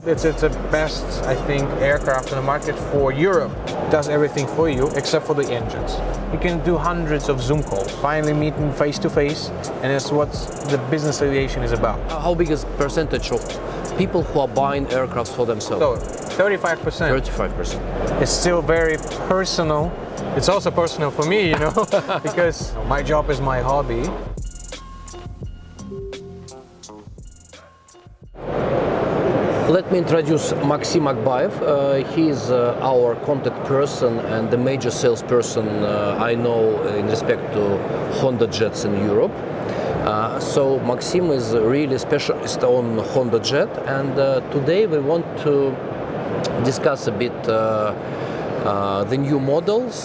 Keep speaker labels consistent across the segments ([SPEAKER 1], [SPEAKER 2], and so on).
[SPEAKER 1] It's the best, I think, aircraft in the market for Europe. It does everything for you except for the engines. You can do hundreds of Zoom calls, finally meeting face to face, and that's what the business aviation is about.
[SPEAKER 2] How big is percentage of people who are buying aircrafts for themselves?
[SPEAKER 1] So 35%.
[SPEAKER 2] 35%.
[SPEAKER 1] It's still very personal. It's also personal for me, because my job is my hobby.
[SPEAKER 2] Let me introduce Maxim Akbayev. He is our contact person and the major salesperson I know in respect to Honda Jets in Europe. So Maxim is really specialist on Honda Jet, and today we want to discuss a bit the new models,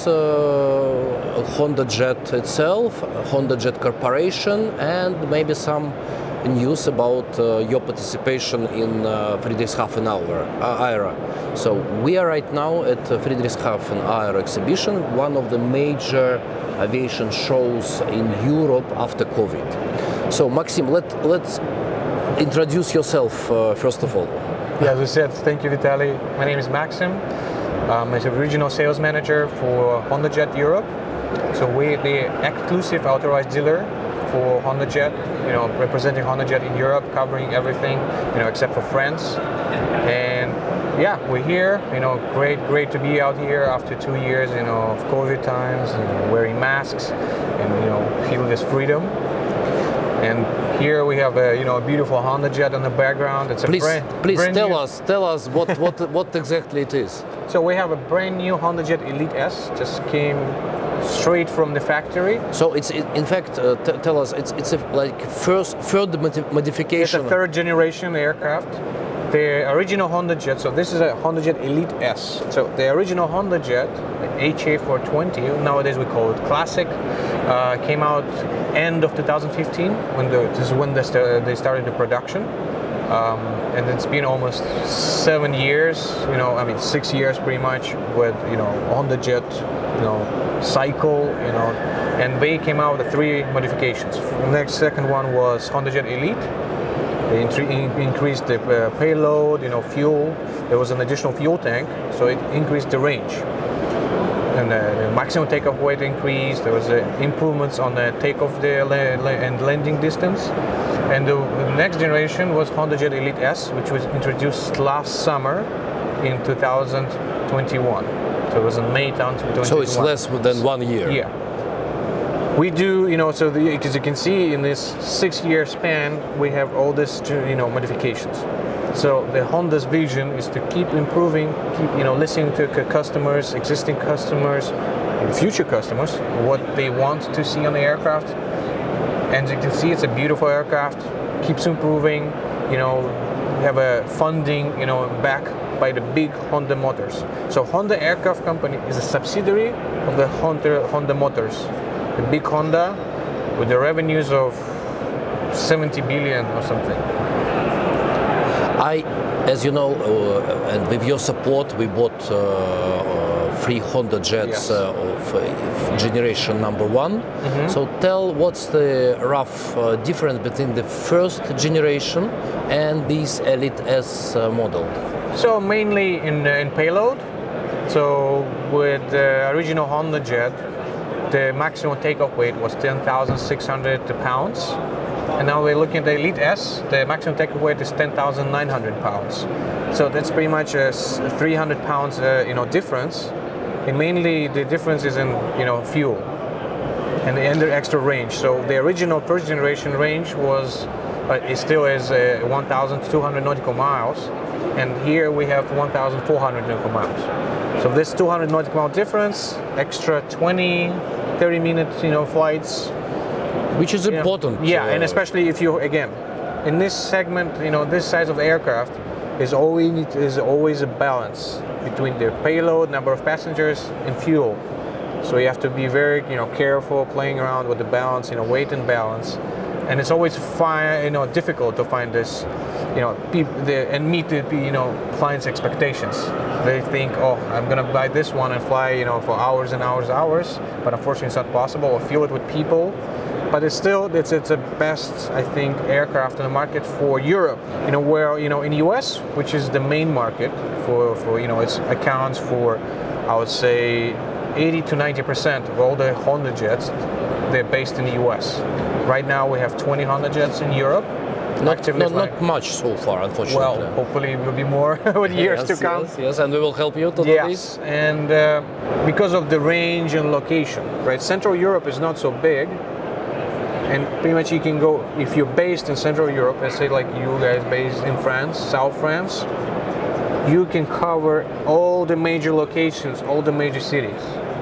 [SPEAKER 2] Honda Jet itself, Honda Jet Corporation, and maybe some news about your participation in Friedrichshafen Aero. So we are right now at Friedrichshafen Aero exhibition, one of the major aviation shows in Europe after COVID. So Maxim, let's introduce yourself first of all.
[SPEAKER 1] Yeah, as I said, thank you, Vitaly. My name is Maxim. I'm a regional sales manager for Honda Jet Europe. So we're the exclusive authorized dealer for Honda Jet, representing Honda Jet in Europe, covering everything, except for France. And yeah, we're here, great to be out here after 2 years, of COVID times, and wearing masks and, feel this freedom. And here we have a beautiful Honda Jet in the background. It's a
[SPEAKER 2] please tell us what exactly it is.
[SPEAKER 1] So we have a brand new Honda Jet Elite S, just came straight from the factory.
[SPEAKER 2] So it's in fact, tell us, it's a, like third modification.
[SPEAKER 1] It's a third generation aircraft. The original Honda Jet, so this is a Honda Jet Elite S. So the original Honda Jet, HA420, nowadays we call it Classic, came out end of 2015 when they started the production. And it's been almost 7 years, 6 years pretty much with, Honda Jet, cycle, and they came out with 3 modifications. The second one was Honda Jet Elite. They increased the payload, fuel. There was an additional fuel tank, so it increased the range. And the maximum takeoff weight increased. There was improvements on the takeoff and landing distance. And the next generation was Honda Jet Elite S, which was introduced last summer in 2021. So it was in May 2021.
[SPEAKER 2] So it's less than 1 year.
[SPEAKER 1] Yeah. We do, as you can see, in this 6-year span, we have all this, modifications. So the Honda's vision is to keep improving, keep, listening to customers, existing customers, and future customers, what they want to see on the aircraft. And you can see it's a beautiful aircraft, keeps improving, we have a funding, backed by the big Honda Motors. So Honda Aircraft Company is a subsidiary of the Honda Motors. The big Honda with the revenues of 70 billion or something.
[SPEAKER 2] As you know, and with your support, we bought 3 Honda Jets of generation number 1. Mm-hmm. So tell what's the rough difference between the first generation and this Elite S model? So
[SPEAKER 1] mainly in payload. So with the original Honda Jet, the maximum takeoff weight was 10,600 pounds. And now we're looking at the Elite S, the maximum takeoff weight is 10,900 pounds. So that's pretty much a 300 pounds difference. And mainly the difference is in fuel and the extra range. So the original first generation range it still is 1,200 nautical miles. And here we have 1,400 nautical miles. So this 200 nautical mile difference, extra 20-30 minute flights,
[SPEAKER 2] which is important.
[SPEAKER 1] Yeah, and especially if you, again, in this segment, this size of the aircraft is always a balance between the payload, number of passengers, and fuel. So you have to be very careful playing around with the balance, weight and balance. And it's always difficult to find this, and meet the clients' expectations. They think, oh, I'm gonna buy this one and fly, for hours and hours, but unfortunately it's not possible. Or fuel it with people, but it's still it's the best, I think, aircraft in the market for Europe. Where in US, which is the main market for it accounts for, I would say, 80 to 90% of all the Honda jets. They're based in the US. Right now we have 20 Honda jets in Europe.
[SPEAKER 2] Not much so far, unfortunately.
[SPEAKER 1] Well, hopefully it will be more with years to come.
[SPEAKER 2] Yes, and we will help you to do this.
[SPEAKER 1] And because of the range and location, right? Central Europe is not so big, and pretty much you can go, if you're based in Central Europe, let's say like you guys based in France, South France, you can cover all the major locations, all the major cities.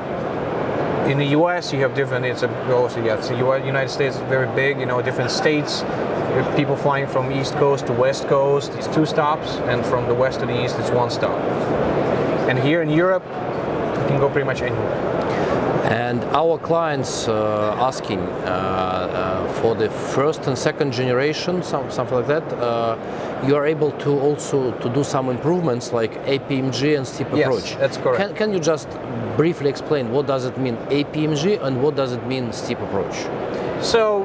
[SPEAKER 1] In the US, you have different. It's the United States is very big. Different states. People flying from East Coast to West Coast. It's 2 stops, and from the west to the east, it's 1 stop. And here in Europe, you can go pretty much anywhere.
[SPEAKER 2] And our clients asking for the first and second generation, something like that. You are able to also to do some improvements like APMG and steep approach.
[SPEAKER 1] Yes, that's correct.
[SPEAKER 2] Can you just briefly explain what does it mean APMG and what does it mean steep approach?
[SPEAKER 1] So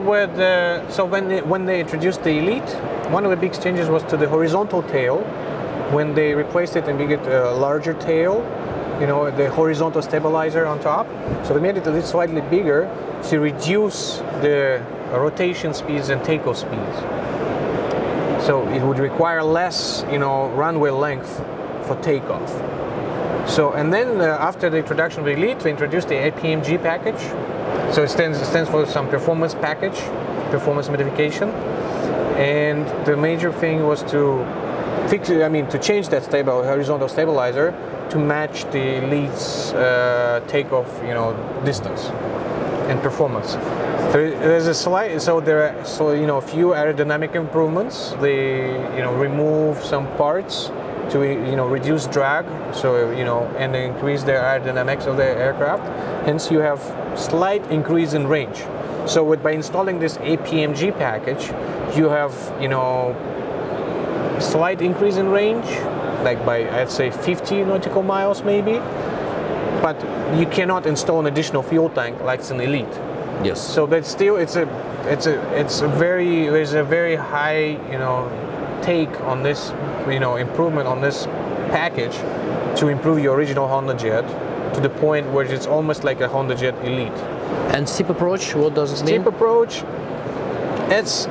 [SPEAKER 1] when they introduced the Elite, one of the big changes was to the horizontal tail. When they replaced it and made it a larger tail, the horizontal stabilizer on top. So they made it a little slightly bigger to reduce the rotation speeds and takeoff speeds. So it would require less, runway length for takeoff. So, and then after the introduction of the Elite, we introduced the APMG package. So it stands for some performance package, performance modification. And the major thing was to to change that horizontal stabilizer to match the Elite's takeoff, distance and performance. There's a a few aerodynamic improvements. They remove some parts to reduce drag, and increase the aerodynamics of the aircraft. Hence, you have slight increase in range. So by installing this APMG package, you have slight increase in range, like by I'd say 50 nautical miles maybe. But you cannot install an additional fuel tank like it's an Elite.
[SPEAKER 2] Yes.
[SPEAKER 1] So, but still, there's a very high take on this improvement on this package to improve your original Honda Jet to the point where it's almost like a Honda Jet Elite.
[SPEAKER 2] And steep approach, what does it mean?
[SPEAKER 1] Steep approach, it's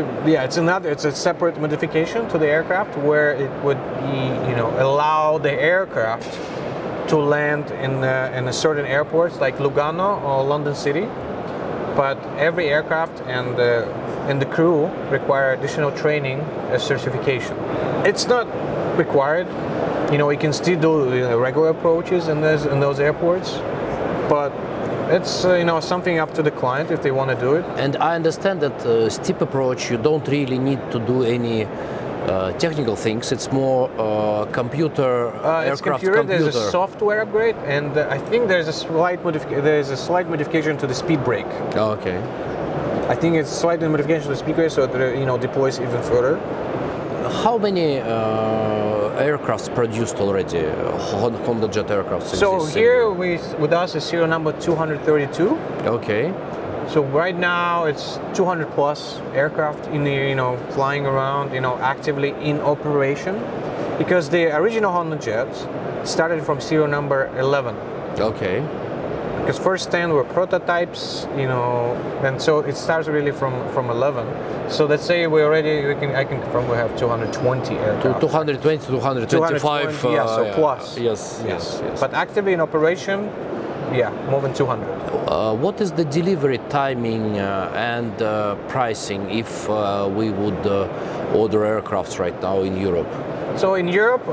[SPEAKER 1] a separate modification to the aircraft where it would be allow the aircraft to land in a certain airports like Lugano or London City, but every aircraft and the crew require additional training as certification. It's not required. You can still do regular approaches in those airports, but it's something up to the client if they want to do it.
[SPEAKER 2] And I understand that steep approach, you don't really need to do any technical things. It's more computer, aircraft computer.
[SPEAKER 1] There's a software upgrade, and I think there's a slight modification to the speed brake.
[SPEAKER 2] Oh, okay.
[SPEAKER 1] I think it's slight modification to the speed brake, so it deploys even further.
[SPEAKER 2] How many aircrafts produced already? Honda Jet aircrafts.
[SPEAKER 1] So here with us is serial number 232.
[SPEAKER 2] Okay.
[SPEAKER 1] So right now it's 200 plus aircraft in the flying around, actively in operation, because the original Honda Jets started from serial number 11.
[SPEAKER 2] Okay.
[SPEAKER 1] Because first 10 were prototypes, and so it starts really from 11. So let's say I can confirm we have 220 aircraft.
[SPEAKER 2] 220, 225.
[SPEAKER 1] So plus.
[SPEAKER 2] Yes.
[SPEAKER 1] But actively in operation, more than 200.
[SPEAKER 2] What is the delivery timing and pricing if we would order aircrafts right now in Europe?
[SPEAKER 1] So in Europe,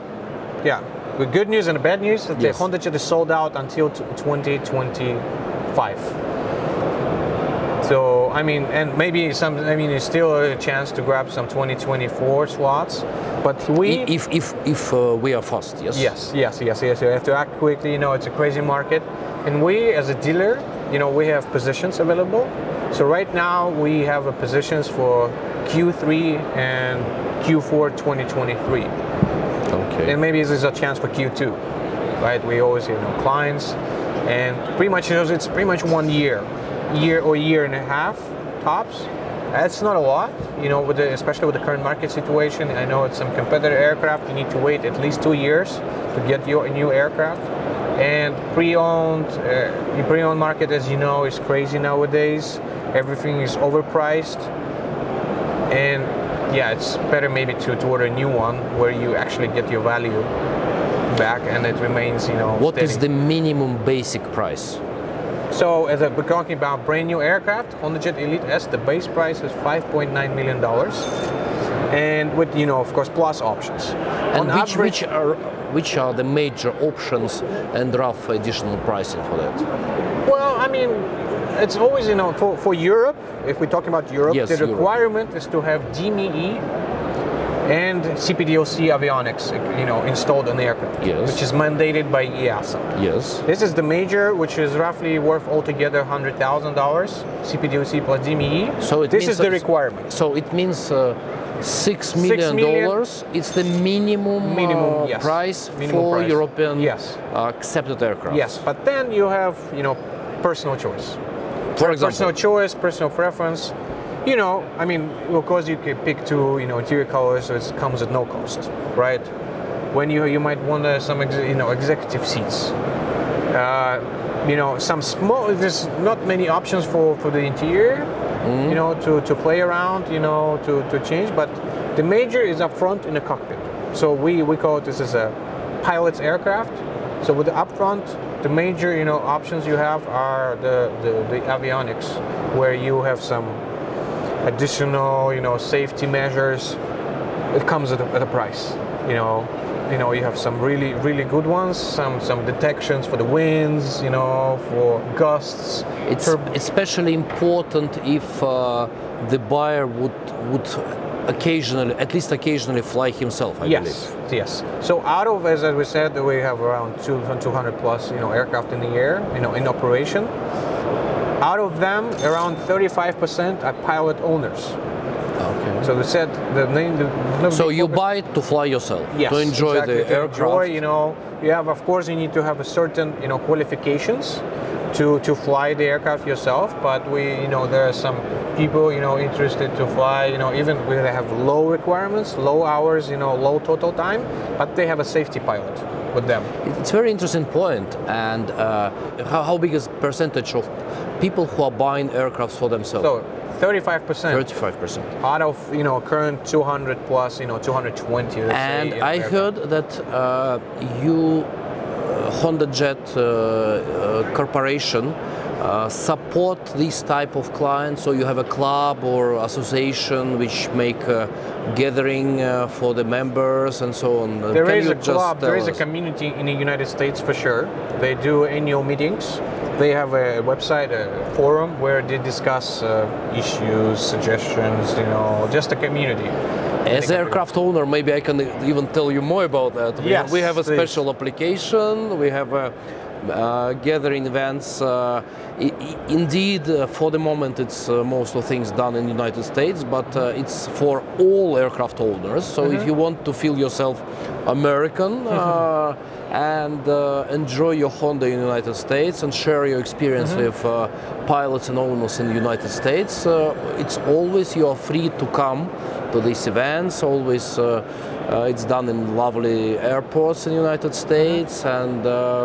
[SPEAKER 1] the good news and the bad news, the Honda Jet is sold out until 2025. So, and maybe there's still a chance to grab some 2024 slots, but
[SPEAKER 2] if we are fast, yes.
[SPEAKER 1] Yes. You have to act quickly. It's a crazy market, and we as a dealer, we have positions available. So right now we have positions for Q3 and Q4 2023.
[SPEAKER 2] Okay.
[SPEAKER 1] And maybe there's a chance for Q2, right? We always clients, and pretty much it's pretty much 1 year year or year and a half tops. That's not a lot, especially with the current market situation. I know it's some competitor aircraft, you need to wait at least 2 years to get your new aircraft. And the pre-owned market, as you know, is crazy nowadays. Everything is overpriced. And yeah, it's better maybe to order a new one where you actually get your value back and it remains,
[SPEAKER 2] What
[SPEAKER 1] steady.
[SPEAKER 2] is the minimum basic price?
[SPEAKER 1] So as we're talking about brand new aircraft, HondaJet Elite S, the base price is $5.9 million. And with, of course, plus options.
[SPEAKER 2] And which are the major options and rough additional pricing for that?
[SPEAKER 1] Well, I mean, it's always, for Europe, if we're talking about Europe,
[SPEAKER 2] Yes,
[SPEAKER 1] the
[SPEAKER 2] Europe.
[SPEAKER 1] requirement is to have DME and CPDOC avionics, installed on the aircraft,
[SPEAKER 2] Yes.
[SPEAKER 1] which is mandated by EASA.
[SPEAKER 2] Yes.
[SPEAKER 1] This is the major, which is roughly worth altogether $100,000, CPDOC plus DME.
[SPEAKER 2] So
[SPEAKER 1] this is the requirement.
[SPEAKER 2] So it means $6 million.
[SPEAKER 1] million.
[SPEAKER 2] It's the minimum,
[SPEAKER 1] Yes.
[SPEAKER 2] price
[SPEAKER 1] Minimum
[SPEAKER 2] for
[SPEAKER 1] price.
[SPEAKER 2] European
[SPEAKER 1] Yes.
[SPEAKER 2] accepted aircraft.
[SPEAKER 1] Yes, but then you have, personal choice.
[SPEAKER 2] For example,
[SPEAKER 1] Personal choice, personal preference. I mean, of course you can pick two, interior colors, so it comes at no cost, right? When you might want some, executive seats. Some small. There's not many options for the interior, to play around, to change. But the major is up front in the cockpit. So we call it this as a pilot's aircraft. So with the up front, the major, options you have are the avionics, where you have some additional, safety measures. It comes at a price. You have some really, really good ones. Some detections for the winds. For gusts.
[SPEAKER 2] it's especially important if the buyer would occasionally, at least occasionally, fly himself. I believe.
[SPEAKER 1] Yes. So out of, as we said, we have around 200 plus, aircraft in the air, in operation. Out of them, around 35% are pilot owners.
[SPEAKER 2] Okay.
[SPEAKER 1] So they said
[SPEAKER 2] So you buy it to fly yourself,
[SPEAKER 1] yes,
[SPEAKER 2] to enjoy
[SPEAKER 1] exactly,
[SPEAKER 2] the
[SPEAKER 1] to
[SPEAKER 2] aircraft.
[SPEAKER 1] Enjoy, you have, of course, you need to have a certain, qualifications to fly the aircraft yourself. But there are some people, interested to fly, even where they have low requirements, low hours, low total time, but they have a safety pilot with them.
[SPEAKER 2] It's a very interesting point. And how big is percentage of people who are buying aircraft for themselves?
[SPEAKER 1] So 35%.
[SPEAKER 2] 35%.
[SPEAKER 1] Out of current 200 plus, 220. Let's
[SPEAKER 2] And
[SPEAKER 1] say,
[SPEAKER 2] I
[SPEAKER 1] aircraft.
[SPEAKER 2] heard that you, HondaJet Corporation, support this type of clients. So you have a club or association which make a gathering for the members and so on.
[SPEAKER 1] There
[SPEAKER 2] Can
[SPEAKER 1] is
[SPEAKER 2] you
[SPEAKER 1] a
[SPEAKER 2] just
[SPEAKER 1] club, there
[SPEAKER 2] tell
[SPEAKER 1] is a
[SPEAKER 2] us?
[SPEAKER 1] community in the United States for sure. They do annual meetings. They have a website, a forum where they discuss issues, suggestions, just a community.
[SPEAKER 2] As aircraft owner, maybe I can even tell you more about that.
[SPEAKER 1] Yes,
[SPEAKER 2] we have a
[SPEAKER 1] please.
[SPEAKER 2] special application. We have gathering events. Indeed, for the moment, it's most of things done in the United States, but it's for all aircraft owners. So if you want to feel yourself American and enjoy your Honda in the United States and share your experience with pilots and owners in the United States, it's always you are free to come to these events. Always, it's done in lovely airports in the United States, and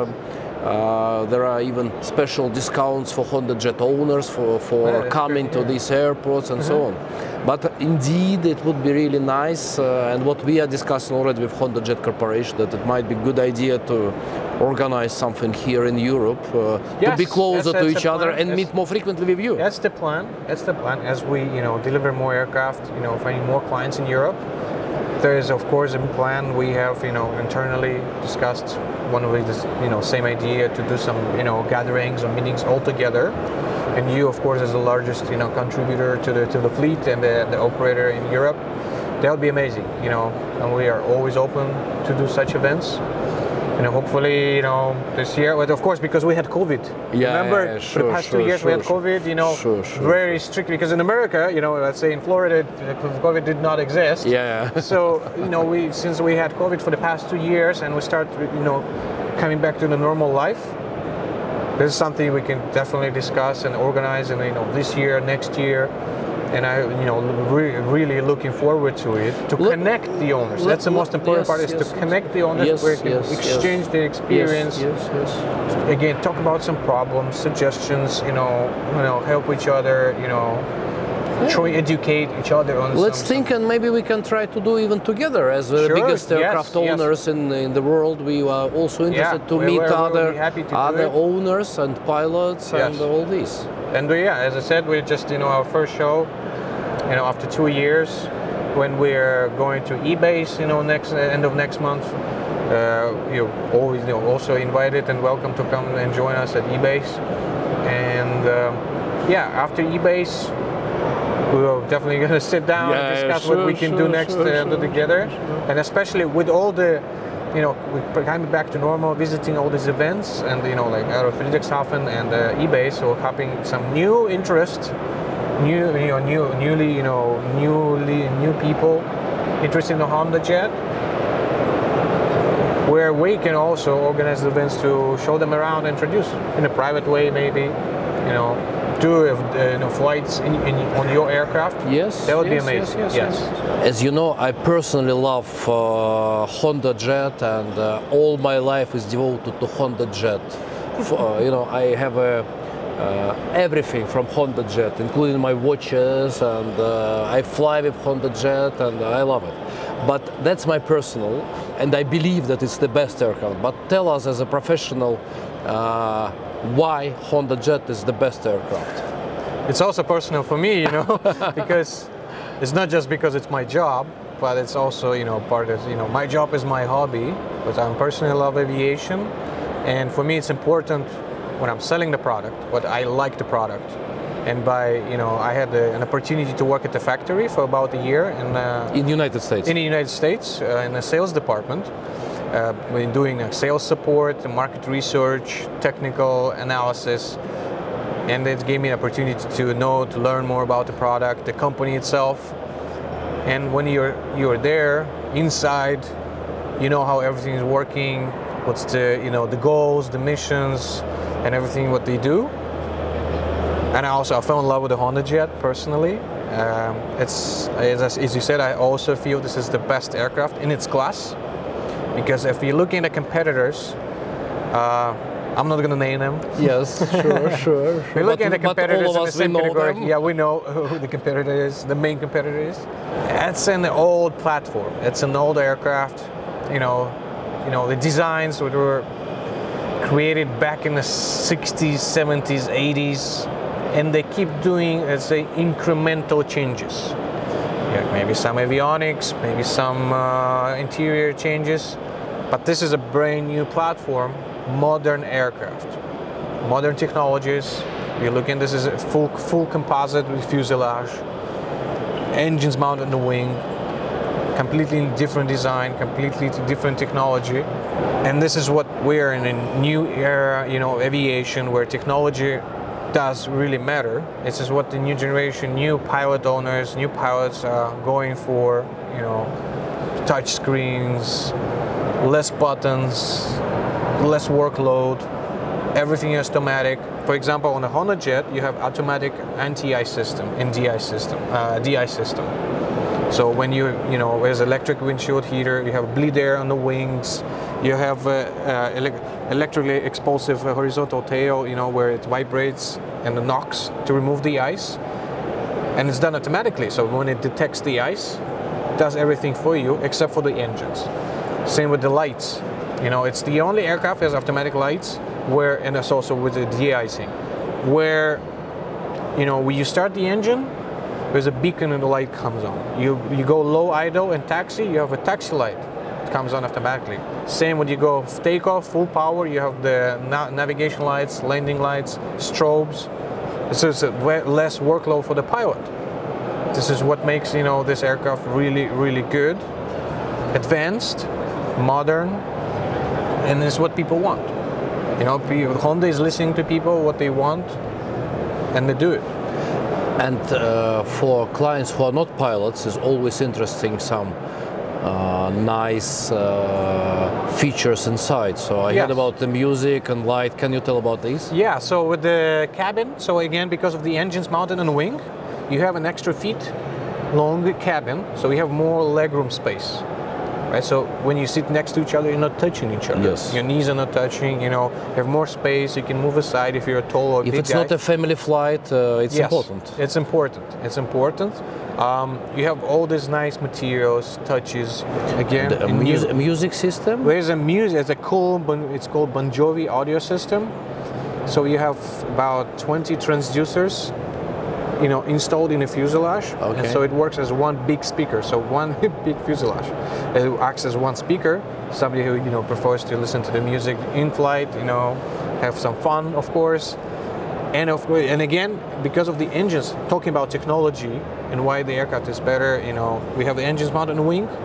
[SPEAKER 2] there are even special discounts for HondaJet owners for coming to these airports and so on. But indeed, it would be really nice, and what we are discussing already with HondaJet Corporation, that it might be a good idea to organize something here in Europe to
[SPEAKER 1] Yes,
[SPEAKER 2] be closer
[SPEAKER 1] that's
[SPEAKER 2] to
[SPEAKER 1] the
[SPEAKER 2] each other
[SPEAKER 1] plan.
[SPEAKER 2] and
[SPEAKER 1] That's-
[SPEAKER 2] meet more frequently with you.
[SPEAKER 1] That's the plan. That's the plan. As we, deliver more aircraft, finding more clients in Europe. There is, of course, a plan we have, internally discussed. One of the, same idea to do some, gatherings or meetings all together. And you, of course, as the largest, contributor to the fleet and the operator in Europe, that would be amazing, And we are always open to do such events. Hopefully, this year, but of course, because we had COVID. Remember, for the past 2 years we had COVID, very strict, because in America, let's say in Florida, COVID did not exist.
[SPEAKER 2] Yeah.
[SPEAKER 1] So, since we had COVID for the past 2 years and we start, coming back to the normal life, this is something we can definitely discuss and organize, and this year, next year. And I, really looking forward to it, to connect the owners. That's the most important part, is to connect the owners, where you can exchange the experience. Again, talk about some problems, suggestions, help each other, try educate each other on.
[SPEAKER 2] Let's think, and maybe we can try to do even together as the biggest aircraft owners in the world. We are also interested to meet other owners and pilots and all this.
[SPEAKER 1] And as I said, we're just our first show, after 2 years, when we're going to EBACE, next end of next month. You're always also invited and welcome to come and join us at EBACE. And after EBACE, we're definitely going to sit down and discuss what we can do next together. And especially with all the, we're coming back to normal, visiting all these events, and like Aero Friedrichshafen and EBACE, so having some new interest, new people interested in the HondaJet, where we can also organize events to show them around, introduce in a private way, maybe, do flights on your aircraft.
[SPEAKER 2] Yes,
[SPEAKER 1] that would be amazing. Yes.
[SPEAKER 2] As you know, I personally love HondaJet, and all my life is devoted to HondaJet. I have everything from HondaJet, including my watches, and I fly with HondaJet, and I love it. But that's my personal, and I believe that it's the best aircraft. But tell us, as a professional, why HondaJet is the best aircraft?
[SPEAKER 1] It's also personal for me, because it's not just because it's my job, but it's also, part of, my job is my hobby, but I personally love aviation. And for me, it's important when I'm selling the product, but I like the product. And I had an opportunity to work at the factory for about a year in
[SPEAKER 2] the United States.
[SPEAKER 1] In the United States, in the sales department. We're doing sales support, market research, technical analysis, and it gave me an opportunity to learn more about the product, the company itself. And when you're there inside, you know how everything is working, what's the goals, the missions, and everything what they do. And I fell in love with the HondaJet personally. As you said, I also feel this is the best aircraft in its class. Because if you're looking at competitors, I'm not going to name them.
[SPEAKER 2] Yes, sure.
[SPEAKER 1] We're looking at the competitors
[SPEAKER 2] in
[SPEAKER 1] the same category. Yeah, we know who the competitor is, the main competitor is. It's an old platform. It's an old aircraft. The designs were created back in the 60s, 70s, 80s, and they keep doing, let's say, incremental changes. Maybe some avionics, maybe some interior changes, but this is a brand new platform, modern aircraft, modern technologies. You're looking, this is a full composite with fuselage, engines mounted on the wing, completely different design, completely different technology. And this is what we're in a new era, aviation, where technology does really matter. This is what the new generation, new pilot owners, new pilots are going for, touch screens, less buttons, less workload, everything is automatic. For example, on a HondaJet, you have automatic anti-ice system and DI system. So when there's electric windshield heater, you have bleed air on the wings, you have electrically explosive horizontal tail, where it vibrates and knocks to remove the ice, and it's done automatically. So when it detects the ice, it does everything for you except for the engines. Same with the lights. It's the only aircraft that has automatic lights, and it's also with the de-icing, where when you start the engine, there's a beacon and the light comes on. You go low idle and taxi, you have a taxi light. It comes on automatically. Same when you go takeoff, full power, you have the navigation lights, landing lights, strobes. So it's less workload for the pilot. This is what makes this aircraft really, really good, advanced, modern, and it's what people want. Honda is listening to people, what they want, and they do it.
[SPEAKER 2] And for clients who are not pilots, it's always interesting some nice features inside. So I
[SPEAKER 1] Yes.
[SPEAKER 2] heard about the music and light. Can you tell about this?
[SPEAKER 1] Yeah, so with the cabin, so again, because of the engines mounted on the wing, you have an extra feet long cabin, so you have more legroom space. Right, so when you sit next to each other, you're not touching each other.
[SPEAKER 2] Yes.
[SPEAKER 1] Your knees are not touching. You know, you have more space. You can move aside if you're a tall or
[SPEAKER 2] If
[SPEAKER 1] big
[SPEAKER 2] it's
[SPEAKER 1] guy.
[SPEAKER 2] not a family flight, it's
[SPEAKER 1] Yes,
[SPEAKER 2] important.
[SPEAKER 1] It's important. It's important. You have all these nice materials, touches. Again,
[SPEAKER 2] The
[SPEAKER 1] in new-
[SPEAKER 2] music system.
[SPEAKER 1] there's a music. It's a cool. It's called Bon Jovi audio system. So you have about 20 transducers, you know, installed in the fuselage, and
[SPEAKER 2] Okay.
[SPEAKER 1] so it works as one big speaker. So one big fuselage, it acts as one speaker. Somebody who prefers to listen to the music in flight, have some fun, of course. And again, because of the engines, talking about technology and why the aircraft is better, we have the engines mounted on the wing.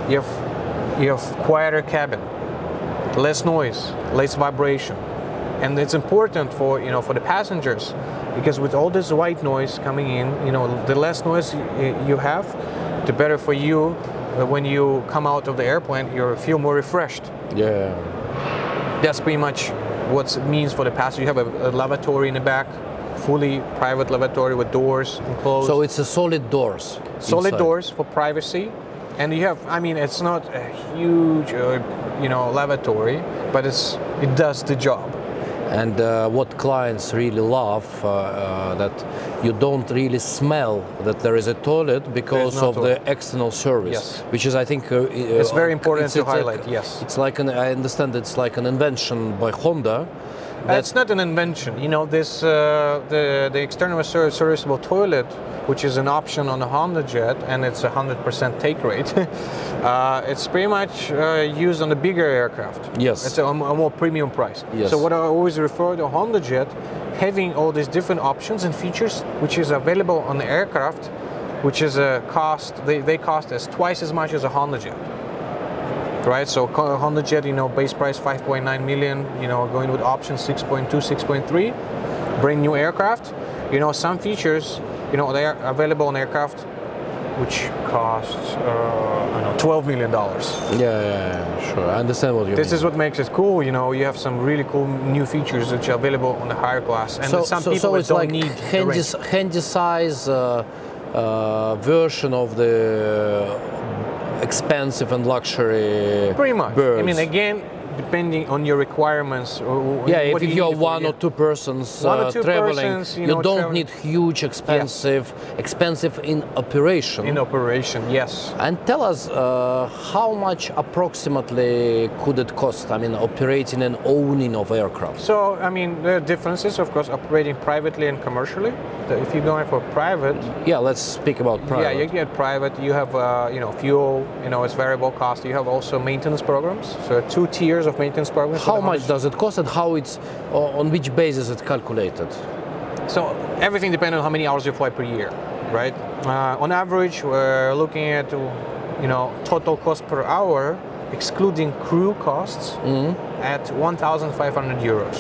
[SPEAKER 1] You have quieter cabin, less noise, less vibration, and it's important for the passengers, because with all this white noise coming in, the less noise you have, the better for you. When you come out of the airplane, you feel more refreshed.
[SPEAKER 2] Yeah.
[SPEAKER 1] That's pretty much what it means for the passenger. You have a lavatory in the back, fully private lavatory with doors enclosed.
[SPEAKER 2] So it's a solid doors.
[SPEAKER 1] Solid
[SPEAKER 2] inside.
[SPEAKER 1] doors for privacy, and you have. I mean, it's not a huge, lavatory, but it does the job.
[SPEAKER 2] And what clients really love, that you don't really smell that there is a toilet because
[SPEAKER 1] There's no
[SPEAKER 2] of
[SPEAKER 1] toilet.
[SPEAKER 2] the external service,
[SPEAKER 1] Yes.
[SPEAKER 2] which is, I think,
[SPEAKER 1] It's very important to
[SPEAKER 2] it's
[SPEAKER 1] highlight. Yes.
[SPEAKER 2] It's like I understand it's like an invention by Honda.
[SPEAKER 1] It's not an invention. This the external serviceable toilet, which is an option on the Honda Jet, and it's 100% take rate. It's pretty much used on the bigger aircraft.
[SPEAKER 2] Yes.
[SPEAKER 1] It's a more premium price.
[SPEAKER 2] Yes.
[SPEAKER 1] So what I always refer to Honda Jet, having all these different options and features, which is available on the aircraft, which is a cost. They cost us twice as much as a Honda Jet. Right, so Honda Jet, base price 5.9 million, going with options 6.2, 6.3, brand new aircraft. Some features, they are available on aircraft, which costs, $12 million.
[SPEAKER 2] Yeah, sure. I understand what you
[SPEAKER 1] This
[SPEAKER 2] mean.
[SPEAKER 1] is what makes it cool. You have some really cool new features which are available on the higher class, and some people
[SPEAKER 2] it's
[SPEAKER 1] don't
[SPEAKER 2] like
[SPEAKER 1] need the range.
[SPEAKER 2] handy size version of the expensive and luxury
[SPEAKER 1] Pretty much.
[SPEAKER 2] birds.
[SPEAKER 1] I mean, again, depending on your requirements.
[SPEAKER 2] yeah,
[SPEAKER 1] what
[SPEAKER 2] if
[SPEAKER 1] do
[SPEAKER 2] you're
[SPEAKER 1] need for
[SPEAKER 2] one
[SPEAKER 1] you.
[SPEAKER 2] or two persons
[SPEAKER 1] One or two
[SPEAKER 2] traveling,
[SPEAKER 1] persons,
[SPEAKER 2] you don't
[SPEAKER 1] traveling.
[SPEAKER 2] need huge, expensive in operation.
[SPEAKER 1] In operation, yes.
[SPEAKER 2] And tell us, how much approximately could it cost? I mean, operating and owning of aircraft.
[SPEAKER 1] So, I mean, there are differences, of course, operating privately and commercially. If you're going for private,
[SPEAKER 2] Yeah, let's speak about private.
[SPEAKER 1] yeah, you get private. You have, fuel. It's variable cost. You have also maintenance programs. So, 2 tiers of maintenance programs.
[SPEAKER 2] How much does it cost, and how it's on which basis it's calculated?
[SPEAKER 1] So, everything depends on how many hours you fly per year, right? On average, we're looking at, total cost per hour, excluding crew costs, at 1,500 euros.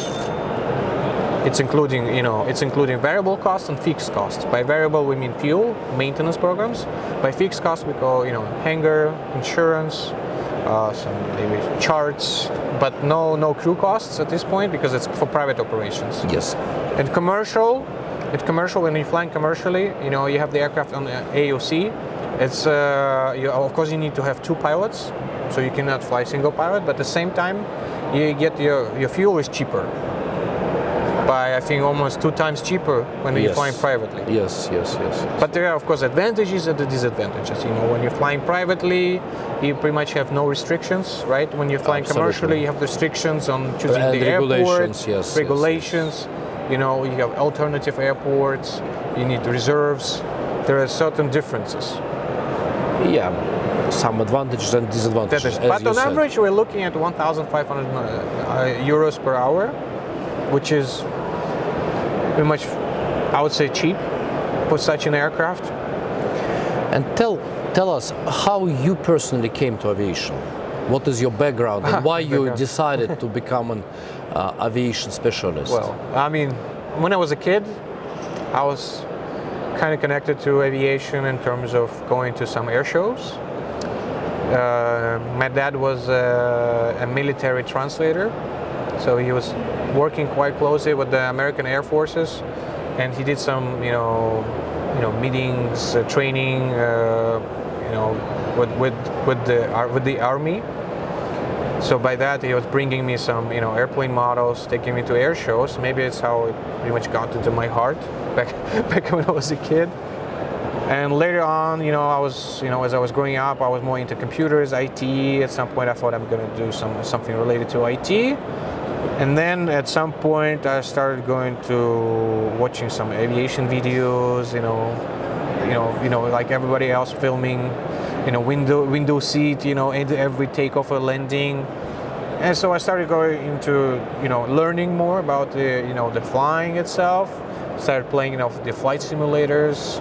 [SPEAKER 1] It's including variable costs and fixed costs. By variable, we mean fuel, maintenance programs. By fixed costs, we call, hangar, insurance, some maybe charts, but no crew costs at this point because it's for private operations.
[SPEAKER 2] Yes.
[SPEAKER 1] And commercial, when you're flying commercially, you have the aircraft on the AOC. It's of course you need to have 2 pilots, so you cannot fly single pilot. But at the same time, you get your fuel is cheaper. By I think almost 2 times cheaper when you're flying privately.
[SPEAKER 2] Yes.
[SPEAKER 1] But there are of course advantages and the disadvantages. When you're flying privately, you pretty much have no restrictions, right? When you're flying
[SPEAKER 2] Absolutely.
[SPEAKER 1] commercially, you have restrictions on choosing
[SPEAKER 2] And
[SPEAKER 1] the airport,
[SPEAKER 2] regulations, yes.
[SPEAKER 1] regulations. You have alternative airports. You need reserves. There are certain differences.
[SPEAKER 2] Yeah, some advantages and disadvantages. as
[SPEAKER 1] But
[SPEAKER 2] you
[SPEAKER 1] on
[SPEAKER 2] said.
[SPEAKER 1] average, we're looking at 1,500 euros per hour, which is pretty much, I would say, cheap for such an aircraft.
[SPEAKER 2] And tell us how you personally came to aviation. What is your background and why you
[SPEAKER 1] Background.
[SPEAKER 2] decided to become an aviation specialist?
[SPEAKER 1] Well, I mean, when I was a kid, I was kind of connected to aviation in terms of going to some air shows. My dad was a military translator, so he was working quite closely with the American Air Forces, and he did some, meetings, training, with the army. So by that, he was bringing me some, airplane models, taking me to air shows. Maybe it's how it pretty much got into my heart back when I was a kid. And later on, I was, as I was growing up, I was more into computers, IT. At some point, I thought I'm going to do something related to IT. And then at some point, I started going to watching some aviation videos. Like everybody else, filming, window seat, every takeoff or landing. And so I started going into, learning more about the flying itself. Started playing, the flight simulators.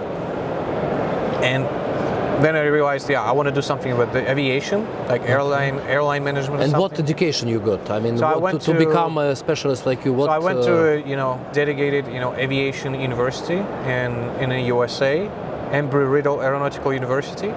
[SPEAKER 1] And then I realized, I want to do something with the aviation, like airline management.
[SPEAKER 2] And what education you got? I mean,
[SPEAKER 1] so to
[SPEAKER 2] become a specialist like you, what?
[SPEAKER 1] So I went to dedicated aviation university in the USA, Embry-Riddle Aeronautical University.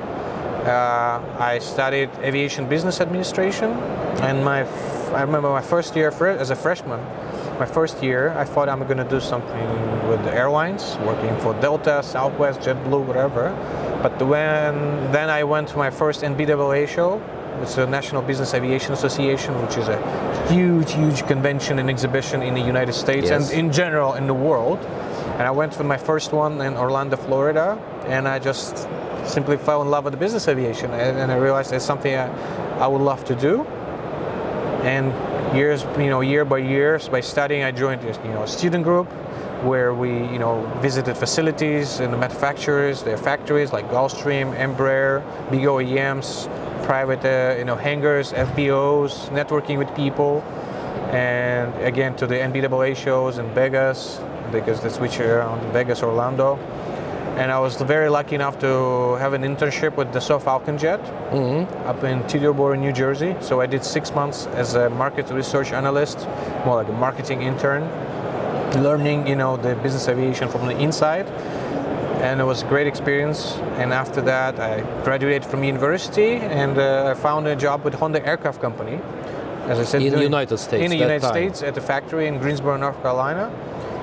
[SPEAKER 1] I studied aviation business administration, and I remember my first year as a freshman. My first year, I thought I'm going to do something with the airlines, working for Delta, Southwest, JetBlue, whatever. But then I went to my first NBAA show, which is the National Business Aviation Association, which is a huge convention and exhibition in the United States and in general in the world. And I went for my first one in Orlando, Florida, and I just simply fell in love with the business aviation, and I realized it's something I would love to do. And year by year, by studying, I joined a student group where we visited facilities and the manufacturers, their factories like Gulfstream, Embraer, big OEMs, private hangars, FBOs, networking with people, and again to the NBAA shows in Vegas, because they switch around Vegas, Orlando. And I was very lucky enough to have an internship with Dassault Falcon Jet up in Teterboro, New Jersey. So I did 6 months as a market research analyst, more like a marketing intern, learning, the business aviation from the inside. And it was a great experience. And after that, I graduated from university, and I found a job with Honda Aircraft Company. As I said,
[SPEAKER 2] in the United States.
[SPEAKER 1] In the United States, at the factory in Greensboro, North Carolina.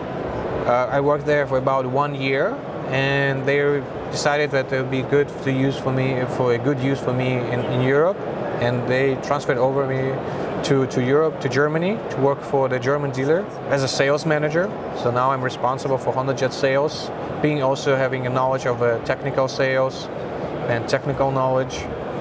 [SPEAKER 1] I worked there for about 1 year. And they decided that it would be good to use for a good use for me in Europe, and they transferred over me to Europe, to Germany, to work for the German dealer as a sales manager. So now I'm responsible for HondaJet sales, having a knowledge of technical sales and technical knowledge.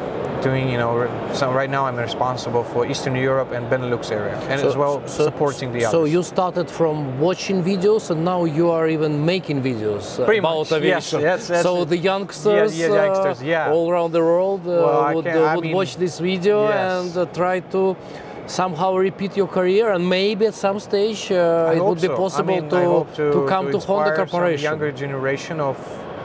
[SPEAKER 1] So right now I'm responsible for Eastern Europe and Benelux area, and supporting the others.
[SPEAKER 2] So you started from watching videos, and now you are even making videos about aviation.
[SPEAKER 1] Yes,
[SPEAKER 2] so the youngsters, all around the world would watch this video and try to somehow repeat your career, and maybe at some stage it would be possible to come to Honda Corporation.
[SPEAKER 1] Some younger generation of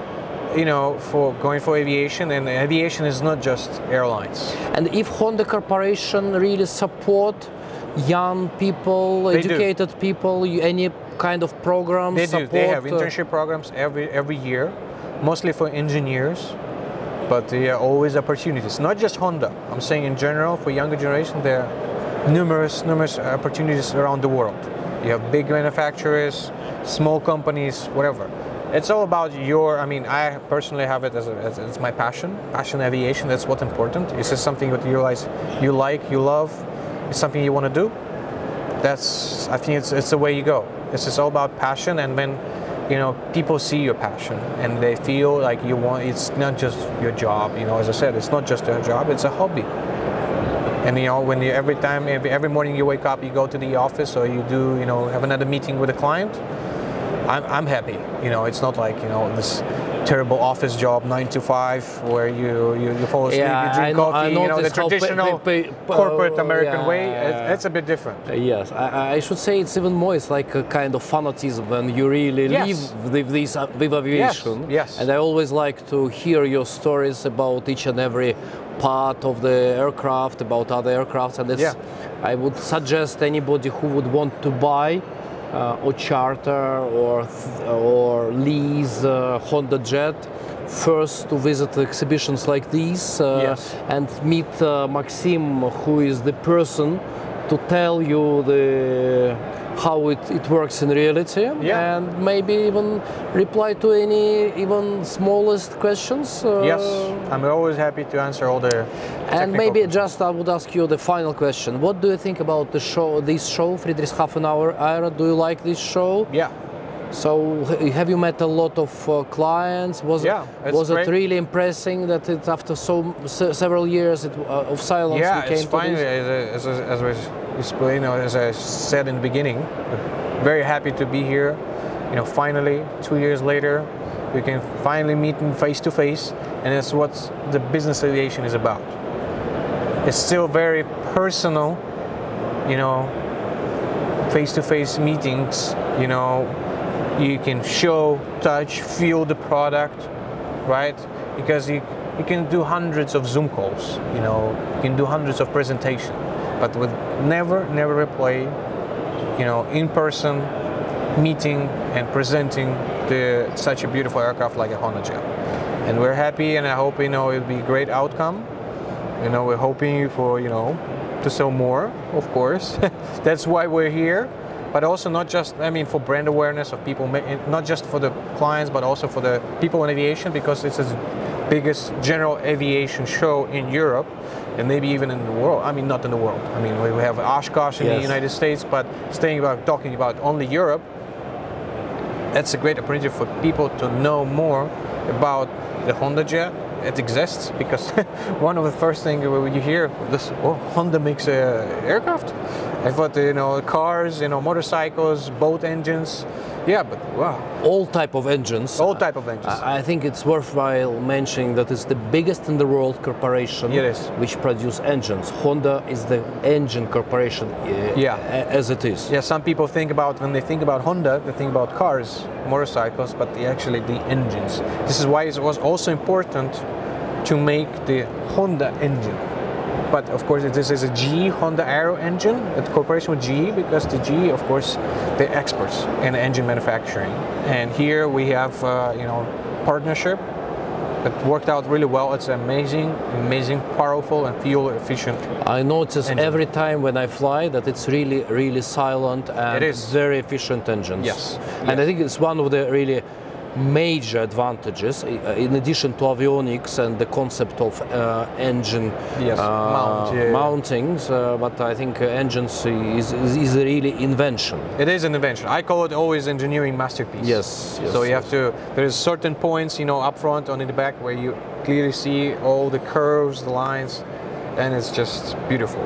[SPEAKER 1] for going for aviation, and aviation is not just airlines.
[SPEAKER 2] And if Honda Corporation really support young people, educated people, any kind of programs?
[SPEAKER 1] They do. They have internship programs every year, mostly for engineers, but there are always opportunities. Not just Honda. I'm saying in general for younger generation, there are numerous opportunities around the world. You have big manufacturers, small companies, whatever. It's all about I personally have it as my passion aviation. That's what's important. It's just something that you realize you like, you love, it's something you want to do. I think it's the way you go. It's just all about passion, and when people see your passion and they feel like it's not just your job. As I said, it's not just a job, it's a hobby. And when every morning you wake up, you go to the office, or you do have another meeting with a client, I'm happy. It's not like this terrible office job 9 to 5 where you fall asleep, you drink coffee. The traditional corporate American way. It's a bit different.
[SPEAKER 2] Yes, I should say it's even more. It's like a kind of fanatism when you really live with aviation.
[SPEAKER 1] Yes.
[SPEAKER 2] And I always like to hear your stories about each and every part of the aircraft, about other aircrafts, and I would suggest anybody who would want to buy or charter or lease HondaJet first to visit exhibitions like these
[SPEAKER 1] Yes.
[SPEAKER 2] and meet Maxim, who is the person to tell you how it works in reality,
[SPEAKER 1] Yeah.
[SPEAKER 2] and maybe even reply to any even smallest questions.
[SPEAKER 1] Yes, I'm always happy to answer all the
[SPEAKER 2] And
[SPEAKER 1] technical
[SPEAKER 2] maybe
[SPEAKER 1] questions.
[SPEAKER 2] just I would ask you the final question. What do you think about this show, Friedrichshafen Aero? Do you like this show?
[SPEAKER 1] Yeah.
[SPEAKER 2] So have you met a lot of clients?
[SPEAKER 1] Yeah, it's
[SPEAKER 2] was it
[SPEAKER 1] great.
[SPEAKER 2] really impressing that after several years of silence
[SPEAKER 1] Yeah,
[SPEAKER 2] we came
[SPEAKER 1] it's
[SPEAKER 2] to
[SPEAKER 1] finally,
[SPEAKER 2] this?
[SPEAKER 1] as we explained, as I said in the beginning, very happy to be here. Finally, 2 years later, we can finally meet face to face, and that's what the business aviation is about. It's still very personal, face to face meetings. You can show, touch, feel the product, right? Because you can do hundreds of Zoom calls, you can do hundreds of presentations, but with never replay, in-person meeting and presenting such a beautiful aircraft like a Honda Jet. And we're happy, and I hope, it'll be a great outcome. We're hoping for, to sell more, of course. That's why we're here. But also not just, for brand awareness of people, not just for the clients, but also for the people in aviation, because it's the biggest general aviation show in Europe, and maybe even in the world. Not in the world. We have Oshkosh in the
[SPEAKER 2] Yes.
[SPEAKER 1] United States, but talking about only Europe, that's a great opportunity for people to know more about the Honda Jet. It exists because one of the first things when you hear this, Honda makes aircraft. I thought, cars, motorcycles, boat engines. Yeah, but wow.
[SPEAKER 2] All type of engines.
[SPEAKER 1] All type of engines.
[SPEAKER 2] I think it's worthwhile mentioning that it's the biggest in the world corporation
[SPEAKER 1] It is.
[SPEAKER 2] which produce engines. Honda is the engine corporation
[SPEAKER 1] Yeah.
[SPEAKER 2] as it is.
[SPEAKER 1] Yeah, some people when they think about Honda, they think about cars, motorcycles, but actually the engines. This is why it was also important to make the Honda engine. But of course, this is a GE Honda Aero engine, a cooperation with GE, because the GE, of course, they're experts in engine manufacturing. And here we have, partnership that worked out really well. It's amazing, powerful and fuel efficient.
[SPEAKER 2] I notice
[SPEAKER 1] engine.
[SPEAKER 2] every time when I fly that it's really, really silent and
[SPEAKER 1] It is.
[SPEAKER 2] very efficient engines.
[SPEAKER 1] Yes.
[SPEAKER 2] And
[SPEAKER 1] Yes.
[SPEAKER 2] I think it's one of the really major advantages, in addition to avionics and the concept of engine
[SPEAKER 1] Yes,
[SPEAKER 2] mountings, but I think engines is a really invention.
[SPEAKER 1] It is an invention. I call it always engineering masterpiece.
[SPEAKER 2] Yes,
[SPEAKER 1] So you have to. There's certain points, up front and in the back, where you clearly see all the curves, the lines, and it's just beautiful.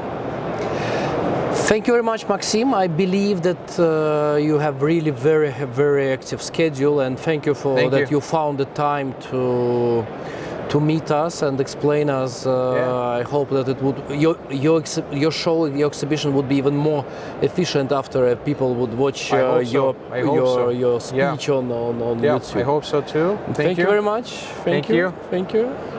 [SPEAKER 2] Thank you very much, Maxim. I believe that you have really very active schedule, and thank you for
[SPEAKER 1] Thank
[SPEAKER 2] that
[SPEAKER 1] you.
[SPEAKER 2] you found the time to meet us and explain us.
[SPEAKER 1] Yeah.
[SPEAKER 2] I hope that it would your show, your exhibition would be even more efficient after people would watch
[SPEAKER 1] I hope so. I hope so.
[SPEAKER 2] your
[SPEAKER 1] Yeah.
[SPEAKER 2] speech on
[SPEAKER 1] Yeah,
[SPEAKER 2] YouTube.
[SPEAKER 1] I hope so too.
[SPEAKER 2] Thank you very much.
[SPEAKER 1] Thank you.
[SPEAKER 2] Thank you.